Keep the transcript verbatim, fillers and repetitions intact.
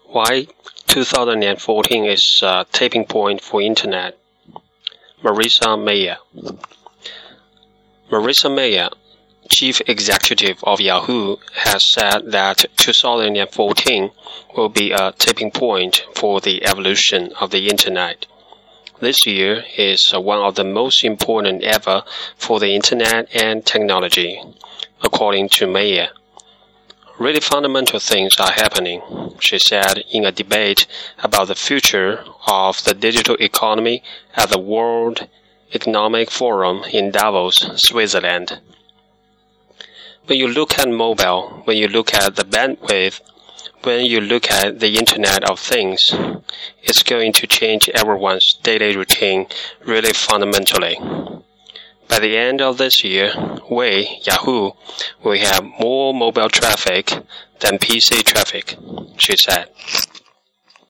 Why two thousand fourteen is a tipping point for Internet. Marissa Mayer. Marissa Mayer, Chief Executive of Yahoo, has said that two thousand fourteen will be a tipping point for the evolution of the Internet. This year is one of the most important ever for the Internet and technology, according to Mayer. Really fundamental things are happening, she said in a debate about the future of the digital economy at the World Economic Forum in Davos, Switzerland. When you look at mobile, when you look at the bandwidth, when you look at the Internet of Things, it's going to change everyone's daily routine really fundamentally. By the end of this year, we, Yahoo, will have more mobile traffic than P C traffic, she said.